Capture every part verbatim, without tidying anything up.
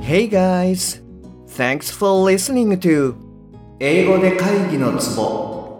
Hey guys! Thanks for listening to 英語で会議のツボ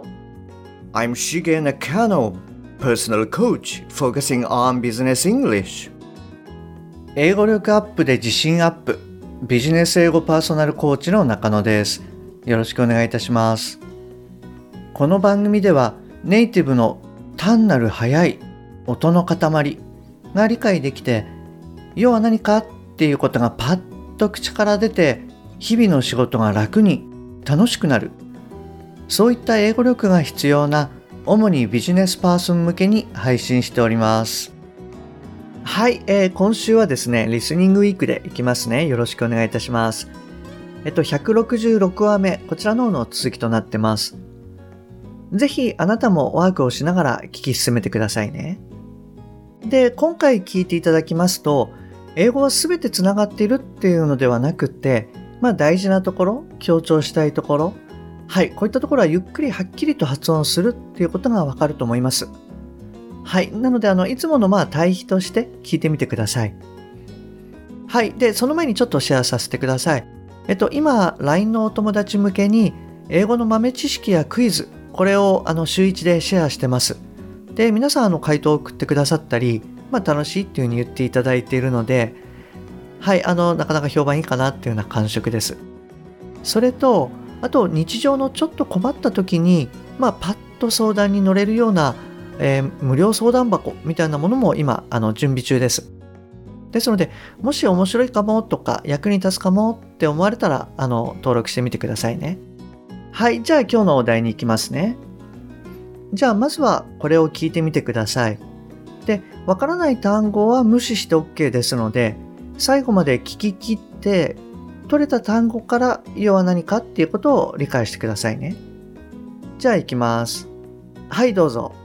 I'm Shige Nakano, personal coach focusing on business English 英語力アップで自信アップビジネス英語パーソナルコーチの中野です。よろしくお願いいたします。この番組ではネイティブの単なる速い音の塊が理解できて、要は何かっていうことがパッと口から出て、日々の仕事が楽に楽しくなる、そういった英語力が必要な主にビジネスパーソン向けに配信しております。はい、えー、今週はですねリスニングウィークでいきますね。よろしくお願いいたします。えっとひゃくろくじゅうろくわめ、こちらの方の続きとなってます。ぜひあなたもワークをしながら聞き進めてくださいね。で、今回聞いていただきますと、英語はすべてつながっているっていうのではなくて、まあ大事なところ、強調したいところ、はい、こういったところはゆっくりはっきりと発音するっていうことがわかると思います。はい、なのであのいつものまあ対比として聞いてみてください。はい、でその前にちょっとシェアさせてください。えっと今 ライン のお友達向けに英語の豆知識やクイズ、これをあの週いちでシェアしてます。で皆さんあの回答を送ってくださったり、まあ楽しいっていうふうに言っていただいているので、はいあのなかなか評判いいかなっていうような感触です。それとあと日常のちょっと困った時にまあパッと相談に乗れるようなえー、無料相談箱みたいなものも今あの準備中です。ですので、もし面白いかもとか役に立つかもって思われたらあの登録してみてくださいね。はい、じゃあ今日のお題に行きますね。じゃあまずはこれを聞いてみてください。で、わからない単語は無視して OK ですので、最後まで聞き切って取れた単語から要は何かっていうことを理解してくださいね。じゃあ行きます。はい、どうぞ。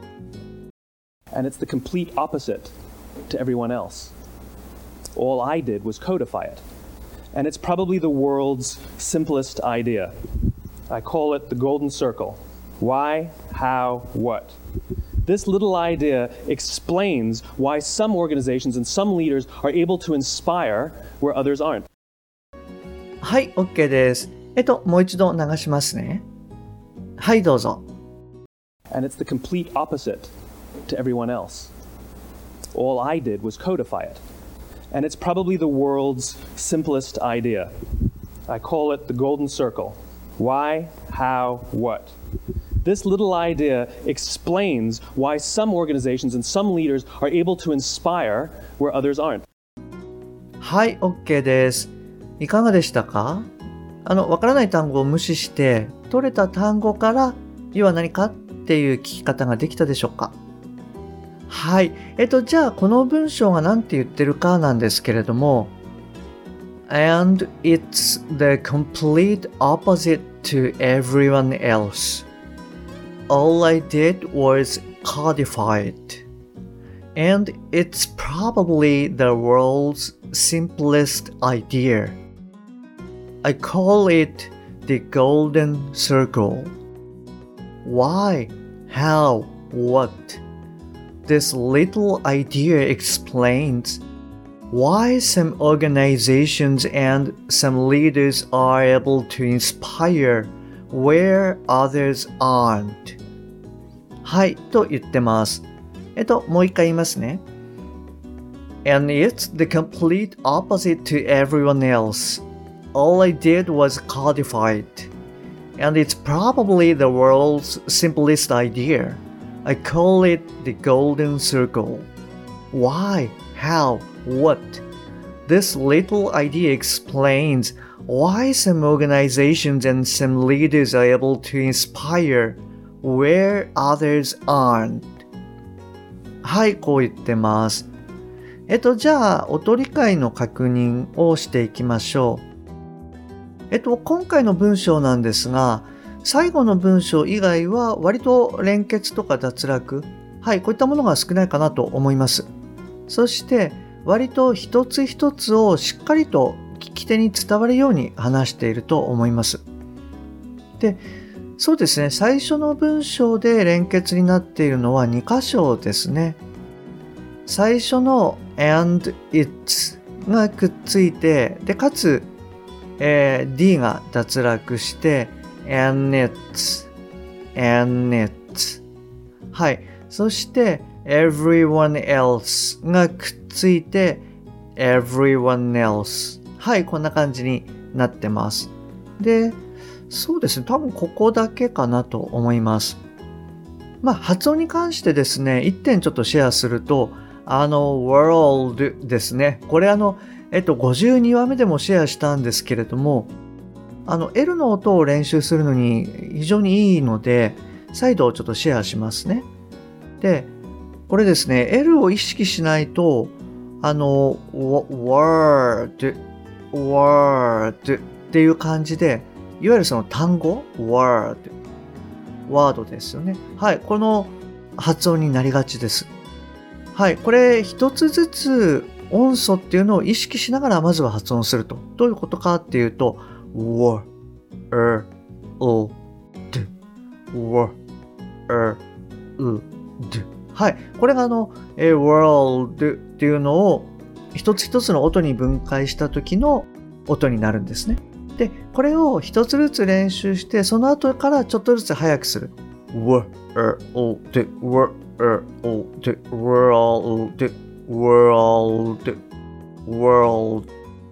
And it's the complete opposite to everyone else. All I did was codify it. And it's probably the world's simplest idea. I call it the golden circle. Why, how, what? This little idea explains why some organizations and some leaders are able to inspire where others aren't. はい、OK です。えっと、もう一度流しますね。はい、どうぞ。 And it's the complete opposite.To everyone else. All I did was codify it. And it's probably the world's simplest idea. I call it the golden circle. Why, how, what? This little idea explains why some organizations and some leaders are able to inspire where others aren't. はい、OK です。いかがでしたか？あの、わからない単語を無視して、取れた単語から要は何かっていう聞き方ができたでしょうか？はい。えっと、じゃあ、この文章が何て言ってるかなんですけれども、And it's the complete opposite to everyone else. All I did was codify it. And it's probably the world's simplest idea. I call it the golden circle. Why? How? What?This little idea explains why some organizations and some leaders are able to inspire where others aren't. はい、と言ってます。えっと、もう一回言いますね。And it's the complete opposite to everyone else. All I did was codify it. And it's probably the world's simplest idea.I call it the golden circle. Why? How? What? This little idea explains why some organizations and some leaders are able to inspire where others aren't. はい、こう言ってます。えっと、じゃあ、音理解の確認をしていきましょう。えっと、今回の文章なんですが、最後の文章以外は割と連結とか脱落、はい、こういったものが少ないかなと思います。そして割と一つ一つをしっかりと聞き手に伝わるように話していると思います。で、そうですね、最初の文章で連結になっているのはに箇所ですね。最初の and it's がくっついて、でかつえー、D が脱落して、and it's, and it's。はい。そして、everyone else がくっついて、everyone else。はい、こんな感じになってます。で、そうですね、多分ここだけかなと思います。まあ、発音に関してですね、一点ちょっとシェアすると、あの、world ですね。これあの、えっと、ごじゅうにわめでもシェアしたんですけれども、あの、L の音を練習するのに非常にいいので、再度ちょっとシェアしますね。で、これですね、L を意識しないと、あの、word, word っていう感じで、いわゆるその単語 word、ワードですよね。はい、この発音になりがちです。はい、これ一つずつ音素っていうのを意識しながらまずは発音すると。どういうことかっていうと、w, er, o, d, w, er, u, d。はい、これがあの、え world っていうのを一つ一つの音に分解した時の音になるんですね。で、これを一つずつ練習して、その後からちょっとずつ早くする。w, er, o, d, w, er, o, d, world, world, world,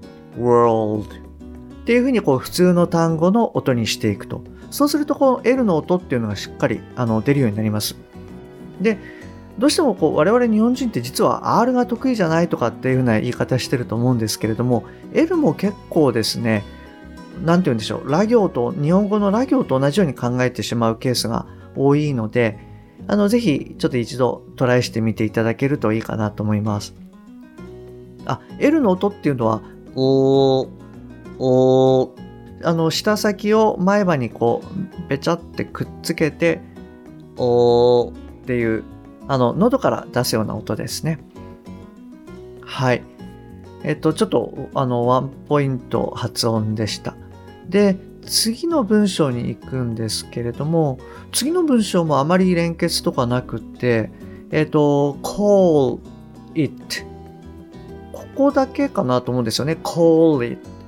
world っていうふうにこう普通の単語の音にしていくと。そうするとこの L の音っていうのがしっかりあの出るようになります。で、どうしてもこう我々日本人って実は R が得意じゃないとかっていうふうな言い方してると思うんですけれども、L も結構ですね、なんて言うんでしょう、ラ行と、日本語のラ行と同じように考えてしまうケースが多いので、あの、ぜひちょっと一度トライしてみていただけるといいかなと思います。あ、L の音っていうのは、おー、おー、あの、舌先を前歯にこう、べちゃってくっつけて、おーっていう、あの、喉から出すような音ですね。はい。えっと、ちょっと、あの、ワンポイント発音でした。で、次の文章に行くんですけれども、次の文章もあまり連結とかなくって、えっと、call it。ここだけかなと思うんですよね。call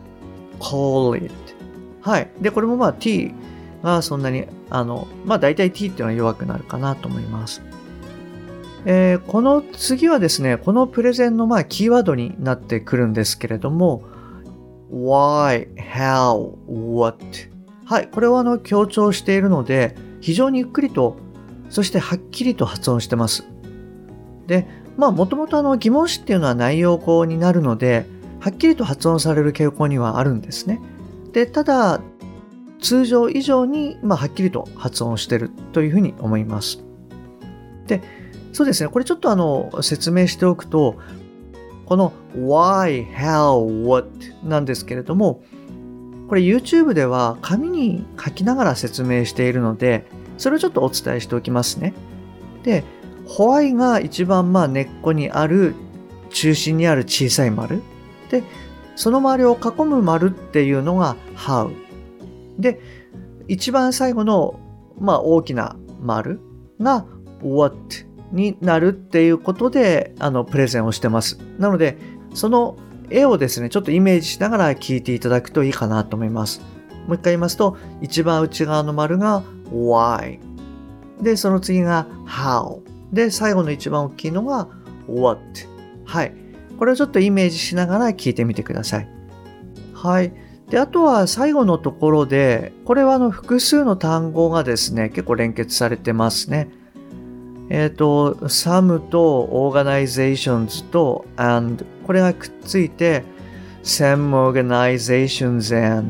it。call it。はい。で、これもまあ t がそんなに、あの、まあ大体 t っていうのは弱くなるかなと思います。えー、この次はですね、このプレゼンのまあキーワードになってくるんですけれども、why, how, what。はい、これをあの強調しているので、非常にゆっくりと、そしてはっきりと発音してます。で、まあもともとあの疑問詞っていうのは内容語になるので、はっきりと発音される傾向にはあるんですね。で、ただ、通常以上に、まあ、はっきりと発音しているというふうに思います。で、そうですね、これちょっとあの説明しておくと、この why, how, what なんですけれども、これ YouTube では紙に書きながら説明しているので、それをちょっとお伝えしておきますね。で、why が一番まあ根っこにある、中心にある小さい丸。で、その周りを囲む丸っていうのが how。で、一番最後のまあ大きな丸が what。になるっていうことであのプレゼンをしてます。なのでその絵をですねちょっとイメージしながら聞いていただくといいかなと思います。もう一回言いますと、一番内側の丸が why で、その次が how で、最後の一番大きいのが what。 はい、これをちょっとイメージしながら聞いてみてください。はい。で、あとは最後のところで、これはあの複数の単語がですね結構連結されてますね。えっと、some と organizations と and これがくっついて some organizations and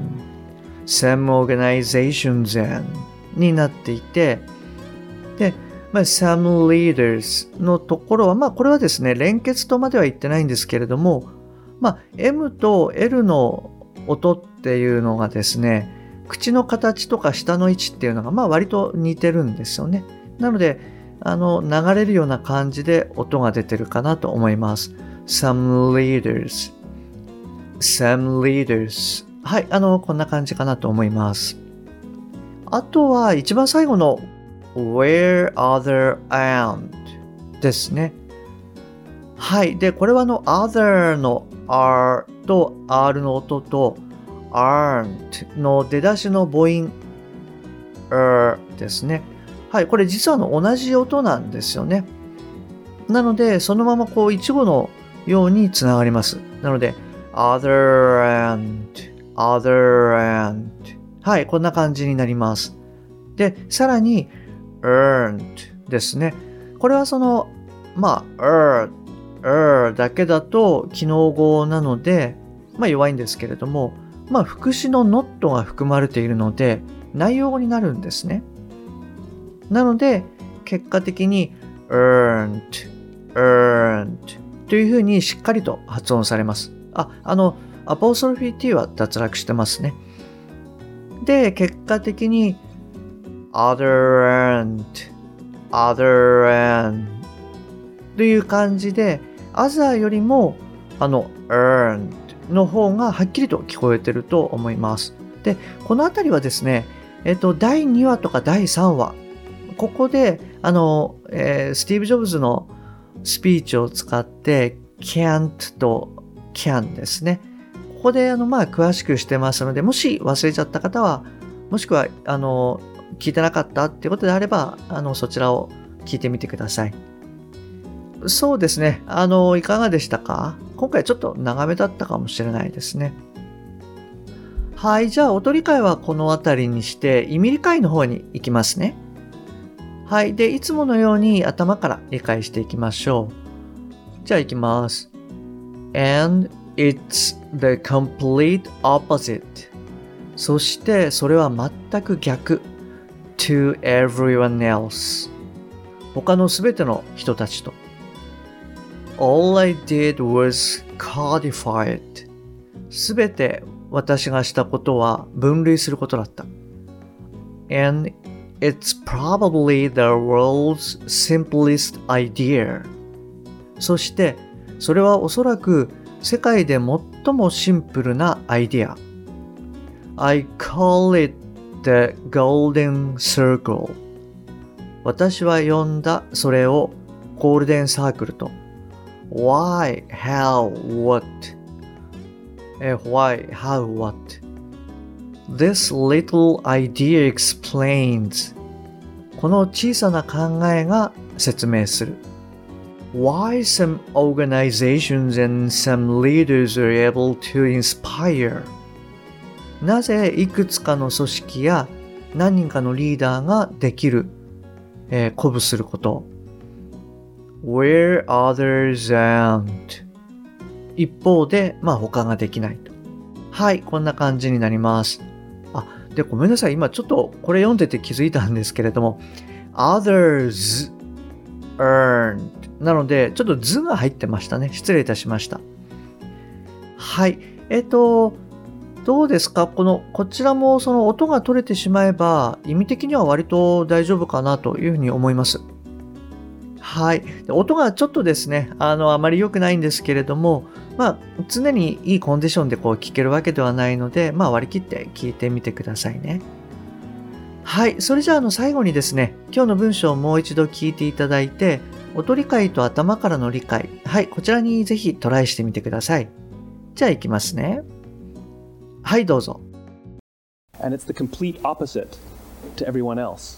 some organizations and になっていて、で、まあ、some leaders のところは、まあこれはですね、連結とまでは言ってないんですけれども、まあ M と L の音っていうのがですね、口の形とか舌の位置っていうのがまあ割と似てるんですよね。なので、あの流れるような感じで音が出てるかなと思います。Some leaders, some leaders。はい、あのこんな感じかなと思います。あとは一番最後の Where other and ですね。はい、でこれはあの other の R と R の音と aren't の出だしの母音 er ですね。はい、これ実はの同じ音なんですよね。なので、そのままこう一語のようにつながります。なので、other and, other and はい、こんな感じになります。で、さらに earned ですね。これはその、まあ、er, er だけだと機能語なので、まあ弱いんですけれども、まあ副詞の not が含まれているので、内容語になるんですね。なので、結果的に earned, earned というふうにしっかりと発音されます。あ、あの、アポストロフィー t は脱落してますね。で、結果的に other and, other and という感じで、other よりもあの earned の方がはっきりと聞こえてると思います。で、このあたりはですね、えっと、だいにわとかだいさんわ、ここで、あの、えー、スティーブ・ジョブズのスピーチを使って、can't と can ですね。ここで、あの、まあ、詳しくしてますので、もし忘れちゃった方は、もしくは、あの、聞いてなかったっていうことであれば、あの、そちらを聞いてみてください。そうですね。あの、いかがでしたか？今回ちょっと長めだったかもしれないですね。はい、じゃあ、音理解はこのあたりにして、意味理解の方に行きますね。はい。で、いつものように頭から理解していきましょう。じゃあ行きます。And it's the complete opposite. そしてそれは全く逆。to everyone else. 他のすべての人たちと。All I did was codify it. すべて私がしたことは分類することだった。And It's probably the world's simplest idea. そして、それはおそらく世界で最もシンプルなアイデア。I call it the golden circle. 私は呼んだそれをゴールデンサークルと。Why, how, what? Why, how, what? This little idea explains. この小さな考えが説明する。Why some organizations and some leaders are able to inspire. なぜいくつかの組織や何人かのリーダーができる、えー、鼓舞すること。Where others aren't. 一方で、まあ他ができないと。はい、こんな感じになります。あ、で、ごめんなさい。今ちょっとこれ読んでて気づいたんですけれども、others earned なので、ちょっと図が入ってましたね。失礼いたしました。はい。えっと、どうですか？この、こちらもその音が取れてしまえば、意味的には割と大丈夫かなというふうに思います。はい。音がちょっとですね、あの、あまり良くないんですけれども、まあ、常にいいコンディションでこう聞けるわけではないので、まあ割り切って聞いてみてくださいね。はい。それじゃあ、あの、最後にですね、今日の文章をもう一度聞いていただいて、音理解と頭からの理解。はい。こちらにぜひトライしてみてください。じゃあ行きますね。はい、どうぞ。 And it's the complete opposite to everyone else.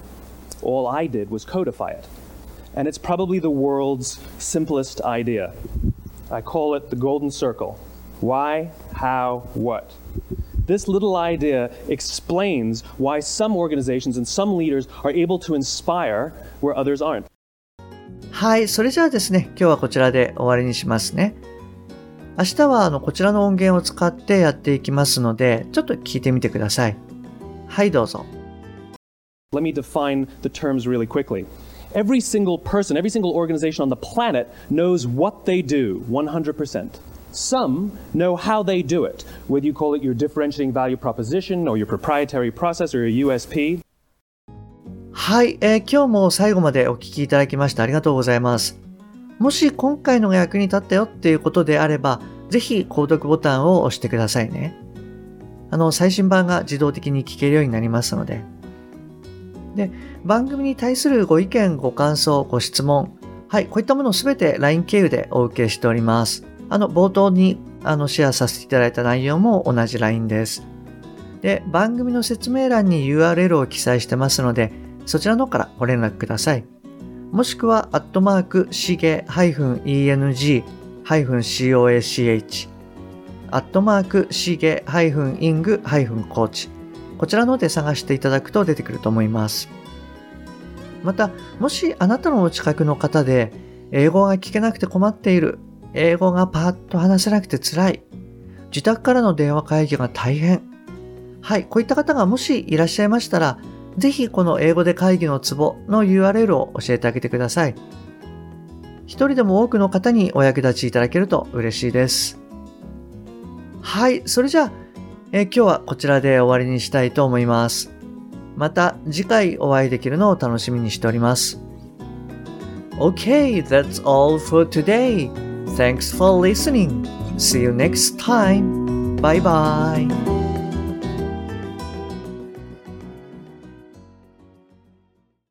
All I did was codify it. And it's probably the world's simplest idea. I call it the golden circle. Why, how, what? This little idea explains why some organizations and some leaders are able to inspire where others aren't. はい、それじゃあですね、今日はこちらで終わりにしますね。明日はあのこちらの音源を使ってやっていきますので、ちょっと聞いてみてください。はい、どうぞ。 Let me define the terms really quickly. Every single person, every single organization on the planet knows what they do one hundred percent. Some know how they do it, whether you call it your differentiating value proposition or your proprietary process or your U S P. はい、えー、今日も最後までお聞きいただきましてありがとうございます。もし今回のが役に立ったよっていうことであれば、ぜひ購読ボタンを押してくださいね。あの、最新版が自動的に聞けるようになりますので。で、番組に対するご意見、ご感想、ご質問、はい、こういったものをすべて ライン 経由でお受けしております。あの、冒頭にあのシェアさせていただいた内容も同じ ライン です。で、番組の説明欄に ユーアールエル を記載してますので、そちらの方からご連絡ください。もしくは、アットマーク、しげ -eng-coach、アットマーク、しげ -ing-coach、こちらの方で探していただくと出てくると思います。また、もしあなたのお近くの方で、英語が聞けなくて困っている、英語がパッと話せなくて辛い、自宅からの電話会議が大変、はい、こういった方がもしいらっしゃいましたら、ぜひこの英語で会議のツボの ユーアールエル を教えてあげてください。一人でも多くの方にお役立ちいただけると嬉しいです。はい、それじゃあ、え今日はこちらで終わりにしたいと思います。また次回お会いできるのを楽しみにしております。Okay, that's all for today. Thanks for listening. See you next time. Bye bye.